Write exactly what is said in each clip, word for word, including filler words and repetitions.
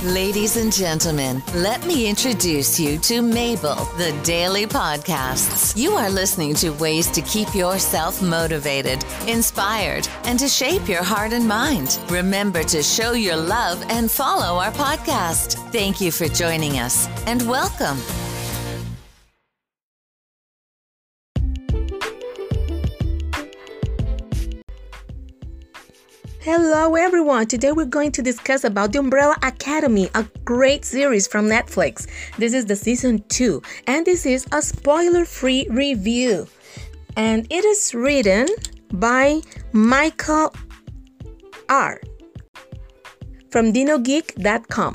Ladies and gentlemen, let me introduce you to Mabel, the Daily Podcasts. You are listening to ways to keep yourself motivated, inspired, and to shape your heart and mind. Remember to show your love and follow our podcast. Thank you for joining us, and welcome. Hello everyone, today we're going to discuss about The Umbrella Academy, a great series from Netflix. This is the season two, and this is a spoiler-free review. And it is written by Michael R. from Dino Geek dot com.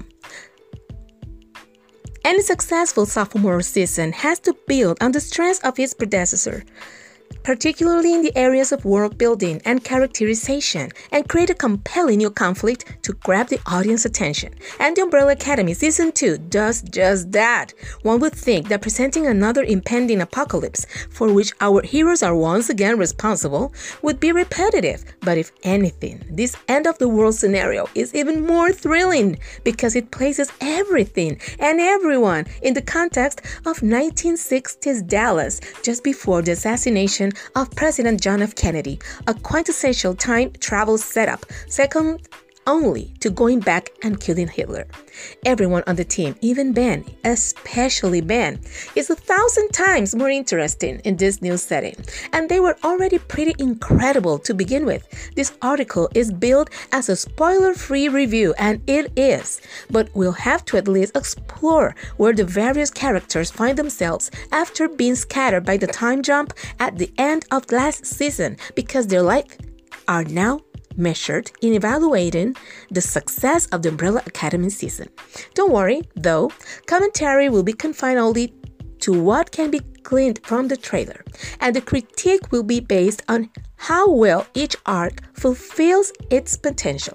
Any successful sophomore season has to build on the strengths of its predecessor, particularly in the areas of world building and characterization, and create a compelling new conflict to grab the audience attention. And The Umbrella Academy Season two does just that. One would think that presenting another impending apocalypse, for which our heroes are once again responsible, would be repetitive. But if anything, this end-of-the-world scenario is even more thrilling because it places everything and everyone in the context of nineteen sixties Dallas just before the assassination of President John F. Kennedy, a quintessential time travel setup, second only to going back and killing Hitler. Everyone on the team, even Ben, especially Ben, is a thousand times more interesting in this new setting. And they were already pretty incredible to begin with. This article is billed as a spoiler-free review, and it is. But we'll have to at least explore where the various characters find themselves after being scattered by the time jump at the end of last season, because their lives are now measured in evaluating the success of the Umbrella Academy season. Don't worry, though, commentary will be confined only to what can be gleaned from the trailer, and the critique will be based on how well each arc fulfills its potential.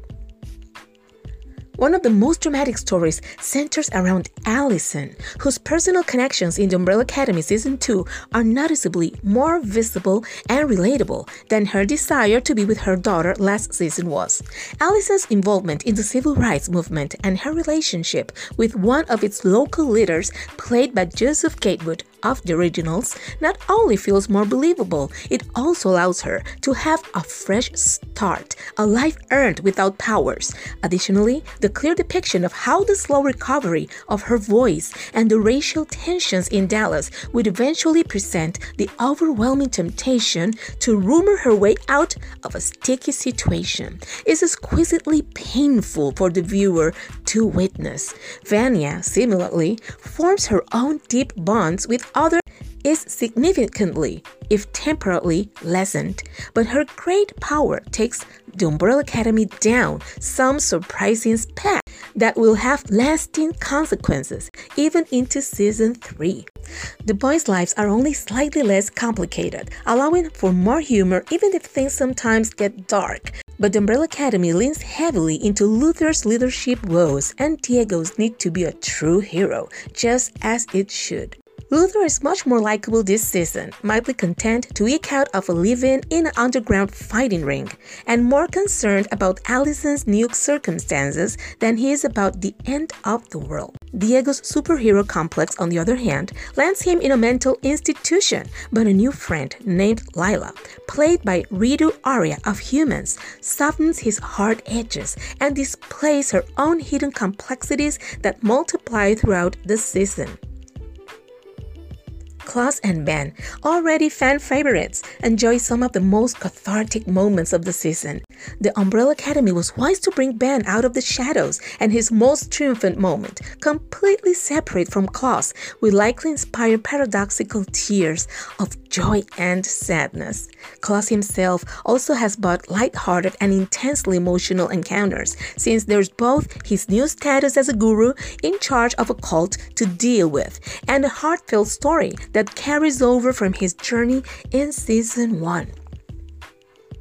One of the most dramatic stories centers around Allison, whose personal connections in the Umbrella Academy Season two are noticeably more visible and relatable than her desire to be with her daughter last season was. Allison's involvement in the civil rights movement and her relationship with one of its local leaders, played by Joseph Gatewood of the originals, not only feels more believable, it also allows her to have a fresh start, a life earned without powers. Additionally, the clear depiction of how the slow recovery of her voice and the racial tensions in Dallas would eventually present the overwhelming temptation to rumor her way out of a sticky situation is exquisitely painful for the viewer to witness. Vanya, similarly, forms her own deep bonds with others, is significantly, if temporarily, lessened, but her great power takes the Umbrella Academy down some surprising path that will have lasting consequences even into season three. The boys' lives are only slightly less complicated, allowing for more humor even if things sometimes get dark. But the Umbrella Academy leans heavily into Luther's leadership woes, and Diego's need to be a true hero, just as it should. Luther is much more likable this season, mildly content to eke out of a living in an underground fighting ring, and more concerned about Allison's new circumstances than he is about the end of the world. Diego's superhero complex, on the other hand, lands him in a mental institution, but a new friend named Lila, played by Ritu Arya of Humans, softens his hard edges and displays her own hidden complexities that multiply throughout the season. Klaus and Ben, already fan favorites, enjoy some of the most cathartic moments of the season. The Umbrella Academy was wise to bring Ben out of the shadows, and his most triumphant moment, completely separate from Klaus, will likely inspire paradoxical tears of joy and sadness. Klaus himself also has both light-hearted and intensely emotional encounters, since there's both his new status as a guru in charge of a cult to deal with, and a heartfelt story that carries over from his journey in season one.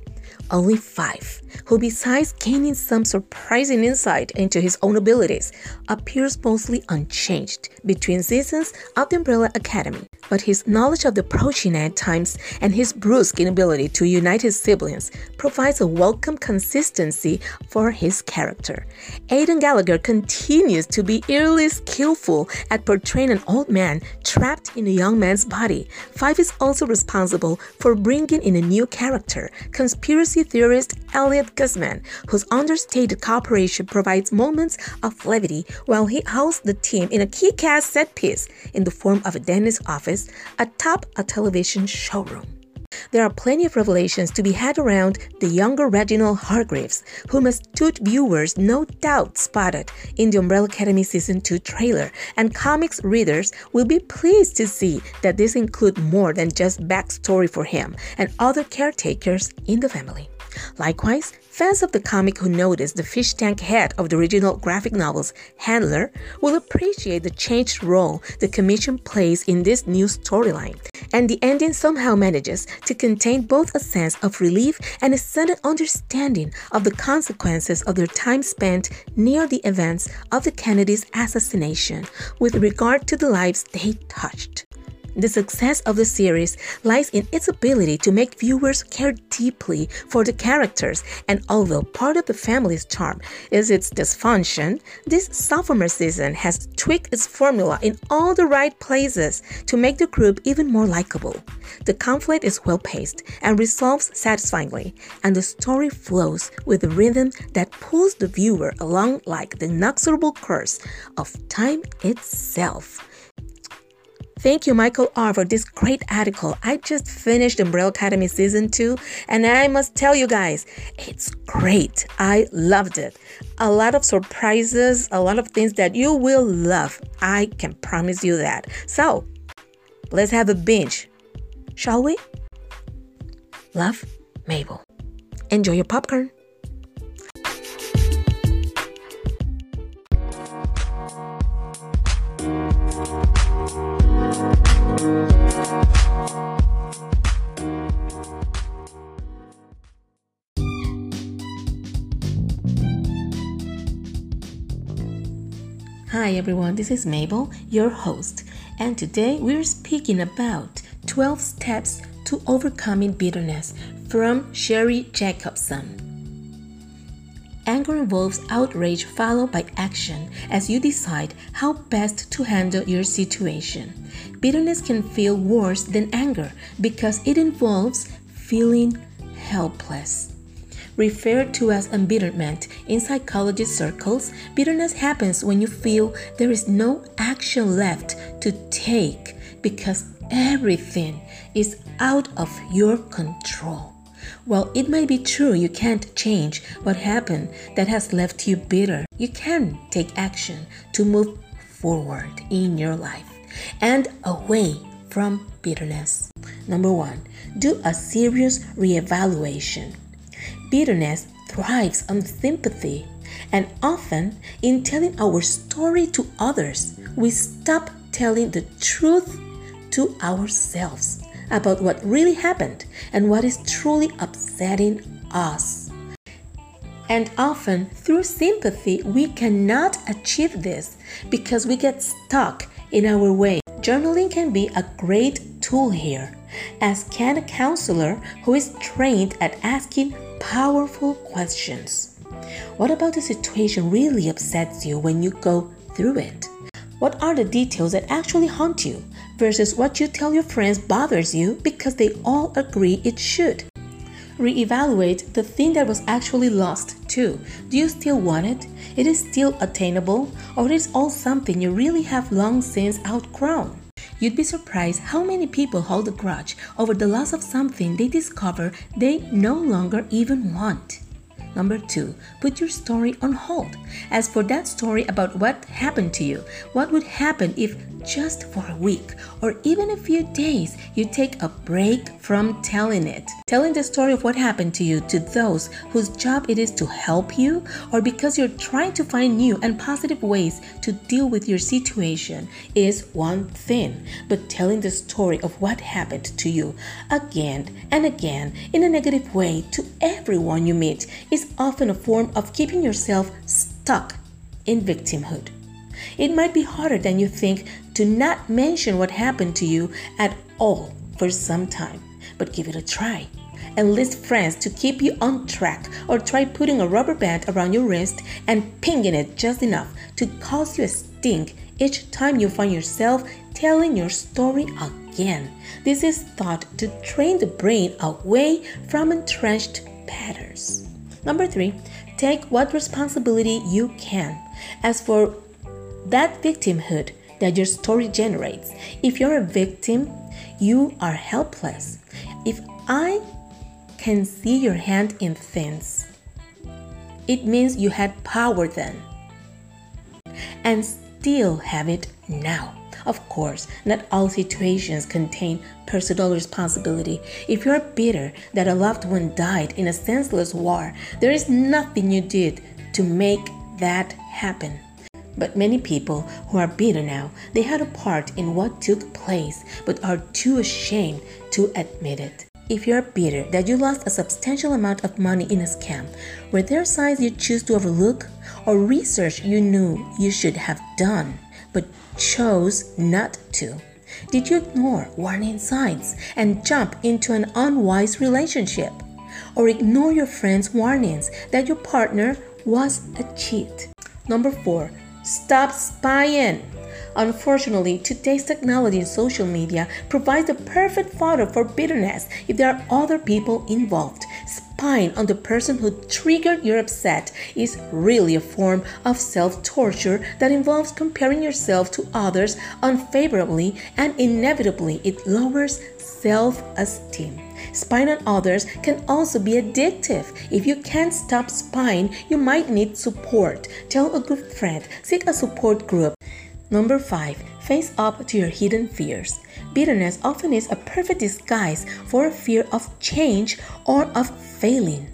only five, who besides gaining some surprising insight into his own abilities, appears mostly unchanged between seasons of the Umbrella Academy. But his knowledge of the approaching times and his brusque inability to unite his siblings provides a welcome consistency for his character. Aidan Gallagher continues to be eerily skillful at portraying an old man trapped in a young man's body. Five is also responsible for bringing in a new character, conspiracy theorist Elliot Guzman, whose understated cooperation provides moments of levity while he hosts the team in a kick-ass set piece in the form of a dentist's office atop a television showroom. There are plenty of revelations to be had around the younger Reginald Hargreaves, whom astute viewers no doubt spotted in the Umbrella Academy Season two trailer, and comics readers will be pleased to see that this includes more than just backstory for him and other caretakers in the family. Likewise, fans of the comic who noticed the fish tank head of the original graphic novel's handler will appreciate the changed role the Commission plays in this new storyline. And the ending somehow manages to contain both a sense of relief and a sudden understanding of the consequences of their time spent near the events of the Kennedy's assassination with regard to the lives they touched. The success of the series lies in its ability to make viewers care deeply for the characters, and although part of the family's charm is its dysfunction, this sophomore season has tweaked its formula in all the right places to make the group even more likable. The conflict is well-paced and resolves satisfyingly, and the story flows with a rhythm that pulls the viewer along like the inexorable course of time itself. Thank you, Michael R., for this great article. I just finished Umbrella Academy Season two, and I must tell you guys, it's great. I loved it. A lot of surprises, a lot of things that you will love. I can promise you that. So, let's have a binge, shall we? Love, Mabel. Enjoy your popcorn. Hi everyone, this is Mabel, your host, and today we're speaking about twelve Steps to Overcoming Bitterness from Sherry Jacobson. Anger involves outrage followed by action as you decide how best to handle your situation. Bitterness can feel worse than anger because it involves feeling helpless. Referred to as embitterment in psychology circles, bitterness happens when you feel there is no action left to take because everything is out of your control. While it may be true you can't change what happened that has left you bitter, you can take action to move forward in your life and away from bitterness. Number one, do a serious reevaluation. Bitterness thrives on sympathy, and often in telling our story to others, we stop telling the truth to ourselves about what really happened and what is truly upsetting us. And often, through sympathy, we cannot achieve this because we get stuck in our way. Journaling can be a great tool here, as can a counselor who is trained at asking powerful questions. What about the situation really upsets you when you go through it? What are the details that actually haunt you versus what you tell your friends bothers you because they all agree it should? Reevaluate the thing that was actually lost too. Do you still want it? It is still attainable, or it is all something you really have long since outgrown? You'd be surprised how many people hold a grudge over the loss of something they discover they no longer even want. Number two, put your story on hold. As for that story about what happened to you, what would happen if just for a week or even a few days you take a break from telling it? Telling the story of what happened to you to those whose job it is to help you, or because you're trying to find new and positive ways to deal with your situation, is one thing. But telling the story of what happened to you again and again in a negative way to everyone you meet is often a form of keeping yourself stuck in victimhood. It might be harder than you think to not mention what happened to you at all for some time, but give it a try. Enlist friends to keep you on track, or try putting a rubber band around your wrist and pinging it just enough to cause you a sting each time you find yourself telling your story again. This is thought to train the brain away from entrenched patterns. Number three, take what responsibility you can. As for that victimhood that your story generates, if you're a victim, you are helpless. If I can see your hand in things, it means you had power then and still have it now. Of course, not all situations contain personal responsibility. If you're bitter that a loved one died in a senseless war, there is nothing you did to make that happen. But many people who are bitter now, they had a part in what took place, but are too ashamed to admit it. If you're bitter that you lost a substantial amount of money in a scam, were there signs you choose to overlook, or research you knew you should have done but chose not to? Did you ignore warning signs and jump into an unwise relationship, or ignore your friends' warnings that your partner was a cheat? Number four, stop spying. Unfortunately, today's technology and social media provides the perfect fodder for bitterness if there are other people involved. Spying on the person who triggered your upset is really a form of self-torture that involves comparing yourself to others unfavorably, and inevitably it lowers self-esteem. Spying on others can also be addictive. If you can't stop spying, you might need support. Tell a good friend, seek a support group. Number five, face up to your hidden fears. Bitterness often is a perfect disguise for a fear of change or of failing.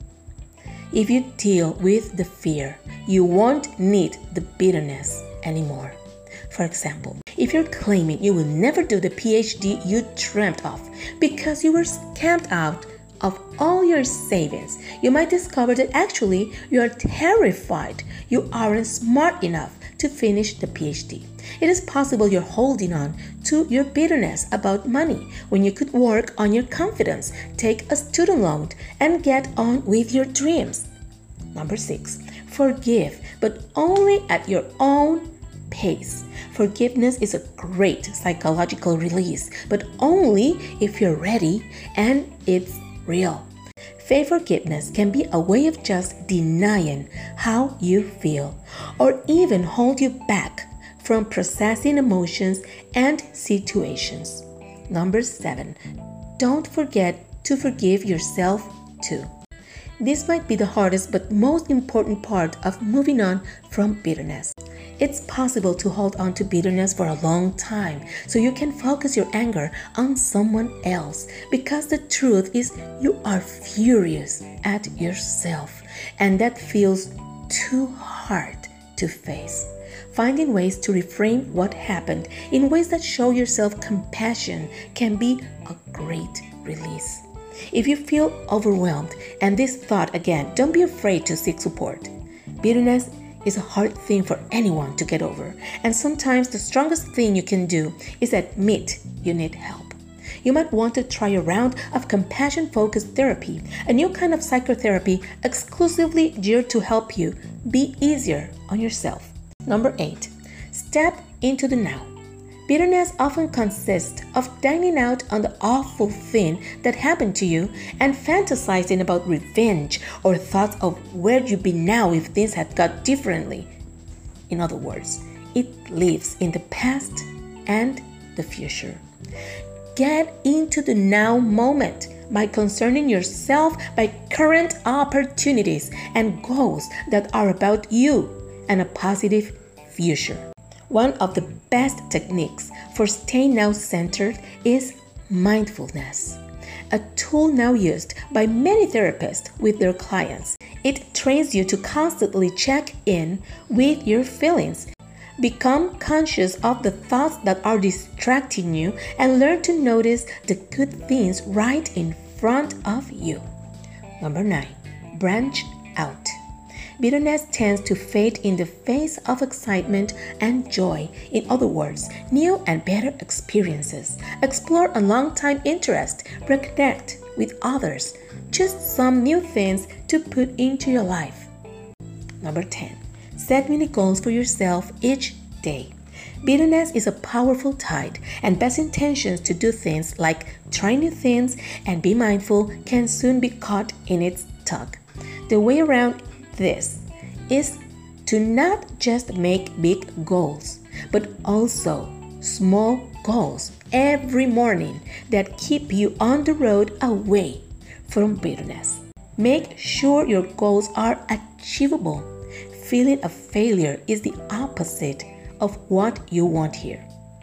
If you deal with the fear, you won't need the bitterness anymore. For example, if you're claiming you will never do the P H D you dreamt of because you were scammed out of all your savings, you might discover that actually you are terrified you aren't smart enough to finish the P H D. It is possible you're holding on to your bitterness about money when you could work on your confidence, take a student loan, and get on with your dreams. Number six, forgive, but only at your own pace. Forgiveness is a great psychological release, but only if you're ready and it's real. Fake forgiveness can be a way of just denying how you feel, or even hold you back from processing emotions and situations. Number seven, don't forget to forgive yourself too. This might be the hardest but most important part of moving on from bitterness. It's possible to hold on to bitterness for a long time so you can focus your anger on someone else, because the truth is you are furious at yourself, and that feels too hard to face. Finding ways to reframe what happened in ways that show yourself compassion can be a great release. If you feel overwhelmed and this thought again, don't be afraid to seek support. Bitterness is a hard thing for anyone to get over, and sometimes the strongest thing you can do is admit you need help. You might want to try a round of compassion-focused therapy, a new kind of psychotherapy exclusively geared to help you be easier on yourself. Number eight, step into the now. Bitterness often consists of dining out on the awful thing that happened to you and fantasizing about revenge or thoughts of where you'd be now if things had gone differently. In other words, it lives in the past and the future. Get into the now moment. by concerning yourself by current opportunities and goals that are about you and a positive future. One of the best techniques for staying now centered is mindfulness, a tool now used by many therapists with their clients. It trains you to constantly check in with your feelings, become conscious of the thoughts that are distracting you, and learn to notice the good things right in front of you. Number nine, branch out. Bitterness tends to fade in the face of excitement and joy. In other words, new and better experiences. Explore a long-time interest. Reconnect with others. Just some new things to put into your life. Number ten. Set mini goals for yourself each day. Bitterness is a powerful tide, and best intentions to do things like try new things and be mindful can soon be caught in its tug. The way around this is to not just make big goals, but also small goals every morning that keep you on the road away from bitterness. Make sure your goals are achievable. Feeling a failure is the opposite of what you want here.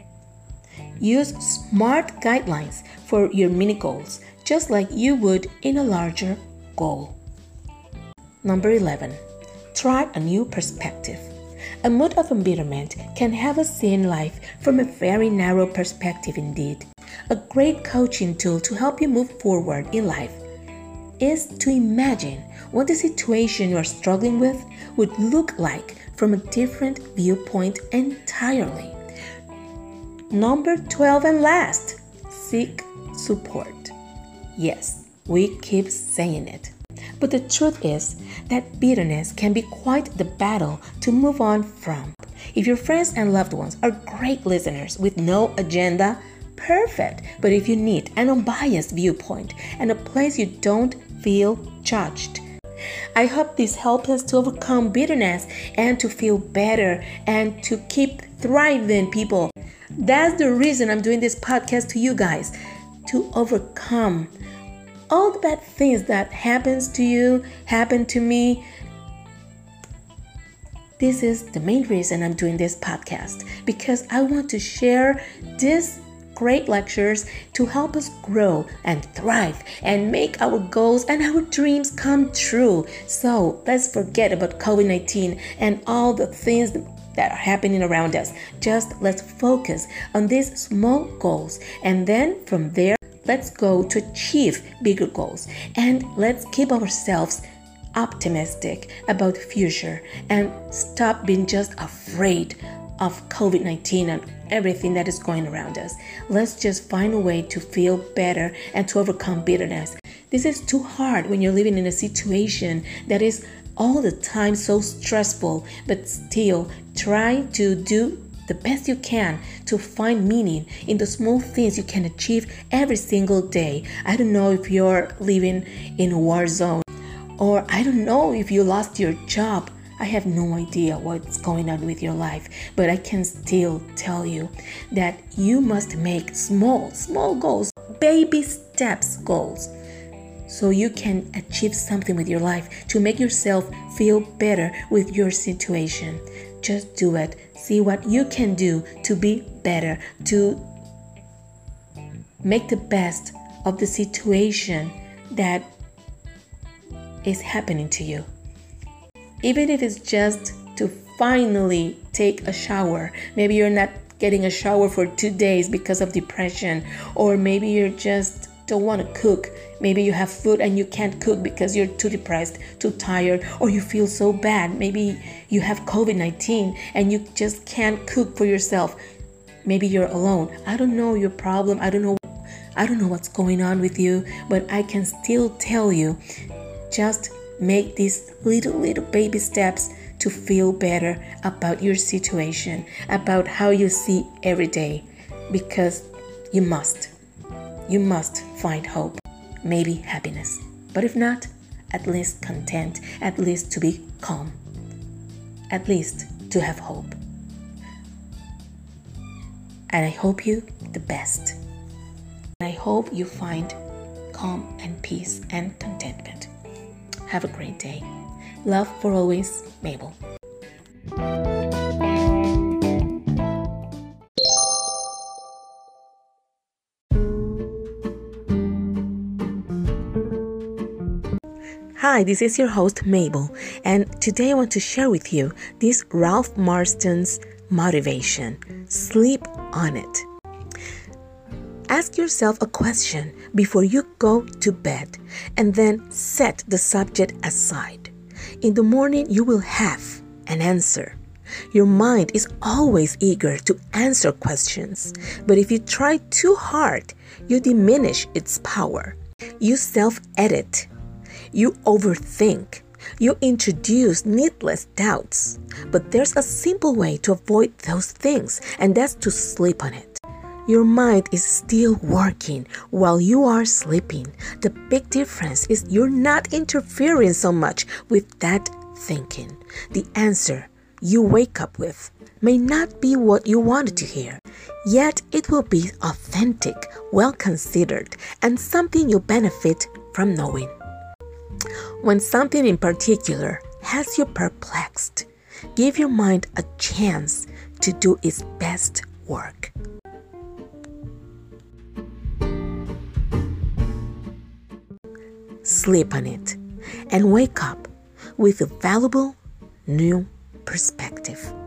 Use smart guidelines for your mini goals, just like you would in a larger goal. Number eleven. Try a new perspective. A mood of embitterment can have us seeing life from a very narrow perspective indeed. A great coaching tool to help you move forward in life is to imagine what the situation you are struggling with would look like from a different viewpoint entirely. Number twelve and last, seek support. Yes, we keep saying it. But the truth is that bitterness can be quite the battle to move on from. If your friends and loved ones are great listeners with no agenda, perfect. But if you need an unbiased viewpoint and a place you don't feel judged, I hope this helps us to overcome bitterness and to feel better and to keep thriving, people. That's the reason I'm doing this podcast to you guys, to overcome all the bad things that happens to you, happen to me. This is the main reason I'm doing this podcast, because I want to share these great lectures to help us grow and thrive and make our goals and our dreams come true. So let's forget about covid nineteen and all the things that are happening around us. Just let's focus on these small goals, and then from there, let's go to achieve bigger goals, and let's keep ourselves optimistic about the future and stop being just afraid of covid nineteen and everything that is going around us. Let's just find a way to feel better and to overcome bitterness. This is too hard when you're living in a situation that is all the time so stressful, but still try to do the best you can to find meaning in the small things you can achieve every single day. I don't know if you're living in a war zone, or I don't know if you lost your job. I have no idea what's going on with your life, but I can still tell you that you must make small, small goals, baby steps goals, so you can achieve something with your life to make yourself feel better with your situation. Just do it. See what you can do to be better, to make the best of the situation that is happening to you. Even if it's just to finally take a shower. Maybe you're not getting a shower for two days because of depression, or maybe you're just don't want to cook. Maybe you have food and you can't cook because you're too depressed, too tired, or you feel so bad. Maybe you have covid nineteen and you just can't cook for yourself. Maybe you're alone. I don't know your problem. I don't know I don't know what's going on with you, but I can still tell you, just make these little little baby steps to feel better about your situation, about how you see every day, because you must. You must find hope, maybe happiness. But if not, at least content, at least to be calm, at least to have hope. And I hope you the best. I hope you find calm and peace and contentment. Have a great day. Love for always, Mabel. Hi, this is your host Mabel, and today I want to share with you this Ralph Marston's motivation. Sleep on it. Ask yourself a question before you go to bed, and then set the subject aside. In the morning, you will have an answer. Your mind is always eager to answer questions, but if you try too hard, you diminish its power. You self-edit. You overthink. You introduce needless doubts. But there's a simple way to avoid those things, and that's to sleep on it. Your mind is still working while you are sleeping. The big difference is you're not interfering so much with that thinking. The answer you wake up with may not be what you wanted to hear, yet it will be authentic, well considered, and something you benefit from knowing. When something in particular has you perplexed, give your mind a chance to do its best work. Sleep on it and wake up with a valuable new perspective.